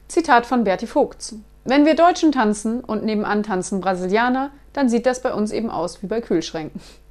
Zitat von Berti Vogts: Wenn wir Deutschen tanzen und nebenan tanzen Brasilianer, dann sieht das bei uns eben aus wie bei Kühlschränken.